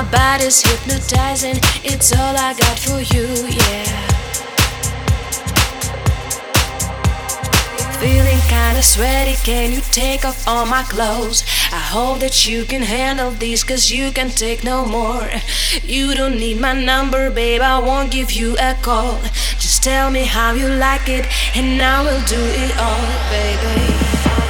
body's hypnotizing, it's all I got for you, yeah. Feeling kinda sweaty, can you take off all my clothes? I hope that you can handle this, cause you can take no more. You don't need my number, babe, I won't give you a call. Just tell me how you like it, and I will do it all, baby.